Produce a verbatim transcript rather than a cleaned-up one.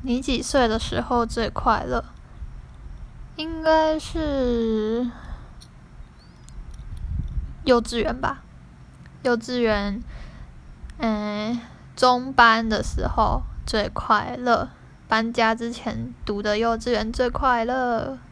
你幾歲的時候最快樂？應該是幼稚園吧。幼稚園，嗯，中班的時候最快樂。搬家之前讀的幼稚園最快樂。